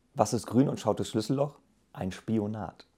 Was ist grün und schaut durchs Schlüsselloch? Ein Spionat.